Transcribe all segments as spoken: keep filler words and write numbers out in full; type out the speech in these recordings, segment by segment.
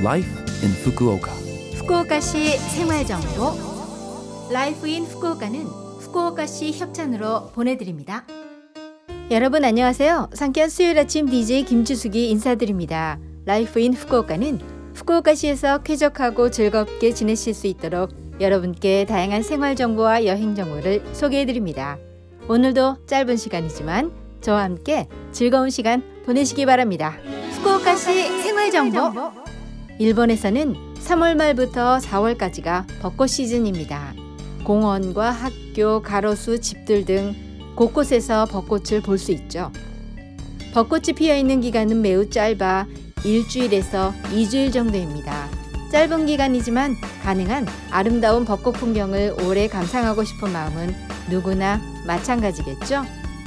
Life in Fukuoka. 후쿠오카시 생활정보 라이프 인 후쿠오카는 후쿠오카시 협찬으로 보내드립니다. 여러분 안녕하세요. 상쾌한 수요일 아침 디제이 김주숙이 인사드립니다. 라이프 인 후쿠오카는 후쿠오카시에서 쾌적하고 즐겁게 지내실 수 있도록 여러분께 다양한 생활정보와 여행정보를 소개해드립니다. 오늘도 짧은 시간이지만 저와 함께 즐거운 시간 보내시기 바랍니다. 후쿠오카시 생활정보. 일본에서는 삼월 말부터 사월까지가 벚꽃 시즌입니다. 공원과 학교, 가로수, 집들 등 곳곳에서 벚꽃을 볼 수 있죠. 벚꽃이 피어있는 기간은 매우 짧아 일주일에서 이주일 정도입니다. 짧은 기간이지만 가능한 아름다운 벚꽃 풍경을 오래 감상하고 싶은 마음은 누구나 마찬가지겠죠.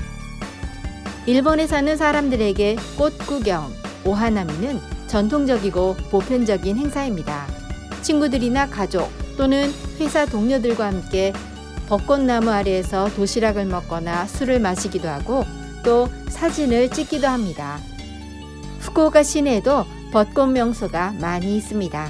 일본에 사는 사람들에게 꽃 구경, 오하나미는 전통적이고 보편적인 행사입니다. 친구들이나 가족 또는 회사 동료들과 함께 벚꽃나무 아래에서 도시락을 먹거나 술을 마시기도 하고 또 사진을 찍기도 합니다. 후쿠오카 시내에도 벚꽃 명소가 많이 있습니다.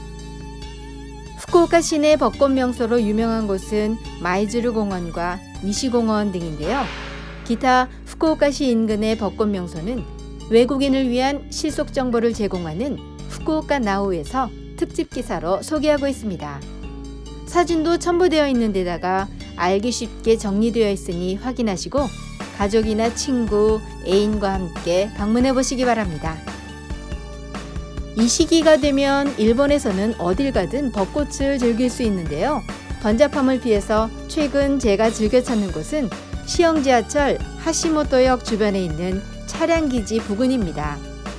후쿠오카 시내 벚꽃 명소로 유명한 곳은 마이즈루 공원과 니시공원 등인데요. 기타 후쿠오카시 인근의 벚꽃 명소는 외국인을 위한 실속 정보를 제공하는 후쿠오카 나우에서 특집 기사로 소개하고 있습니다. 사진도 첨부되어 있는 데다가 알기 쉽게 정리되어 있으니 확인하시고 가족이나 친구, 애인과 함께 방문해 보시기 바랍니다. 이 시기가 되면 일본에서는 어딜 가든 벚꽃을 즐길 수 있는데요. 번잡함을 피해서 최근 제가 즐겨 찾는 곳은 시형 지하철 하시모토역 주변에 있는 차량기지 부근입니다.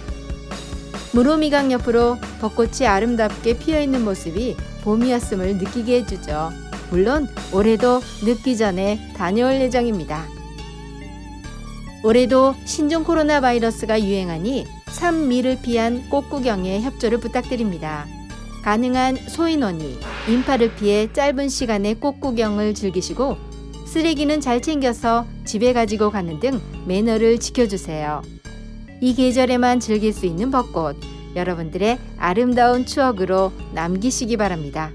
무로미강 옆으로 벚꽃이 아름답게 피어있는 모습이 봄이었음을 느끼게 해주죠. 물론 올해도 늦기 전에 다녀올 예정입니다. 올해도 신종 코로나 바이러스가 유행하니 산미를 피한 꽃구경에 협조를 부탁드립니다. 가능한 소인원이 인파를 피해 짧은 시간에 꽃구경을 즐기시고 쓰레기는 잘 챙겨서 집에 가지고 가는 등 매너를 지켜주세요. 이 계절에만 즐길 수 있는 벚꽃, 여러분들의 아름다운 추억으로 남기시기 바랍니다.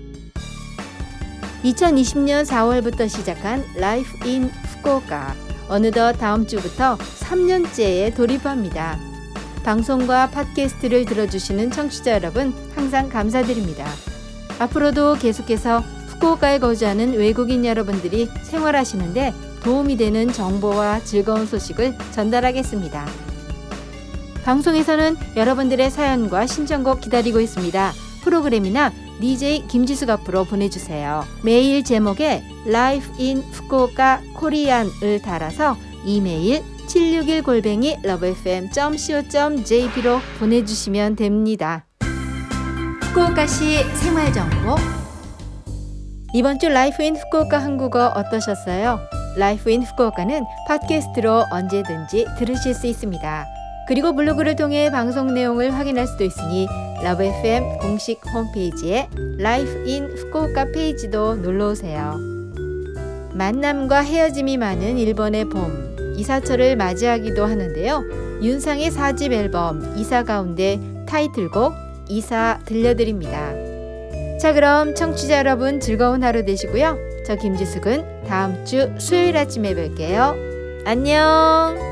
이천이십 년 사월부터 시작한 라이프 인 후쿠오카, 어느덧 다음 주부터 삼 년째에 돌입합니다. 방송과 팟캐스트를 들어주시는 청취자 여러분 항상 감사드립니다. 앞으로도 계속해서 후쿠오카에 거주하는 외국인 여러분들이 생활하시는데 도움이 되는 정보와 즐거운 소식을 전달하겠습니다. 방송에서는 여러분들의 사연과 신청곡 기다리고 있습니다. 프로그램이나 디제이 김지숙 앞으로 보내주세요. 메일 제목에 Life in Fukuoka Korean을 달아서 이메일 칠육일 골뱅이 러브에프엠 닷 씨오 닷 제이피로 보내주시면 됩니다. 후쿠오카시 생활정보. 이번 주 라이프 인 후쿠오카 한국어 어떠셨어요? 라이프 인 후쿠오카는 팟캐스트로 언제든지 들으실 수 있습니다. 그리고 블로그를 통해 방송 내용을 확인할 수도 있으니 러브에프엠 공식 홈페이지에 라이프 인 후쿠오카 페이지도 놀러오세요. 만남과 헤어짐이 많은 일본의 봄, 이사철을 맞이하기도 하는데요. 윤상의 사 집 앨범 이사 가운데 타이틀곡 이사 들려드립니다. 자, 그럼 청취자 여러분 즐거운 하루 되시고요. 저 김지숙은 다음 주 수요일 아침에 뵐게요. 안녕.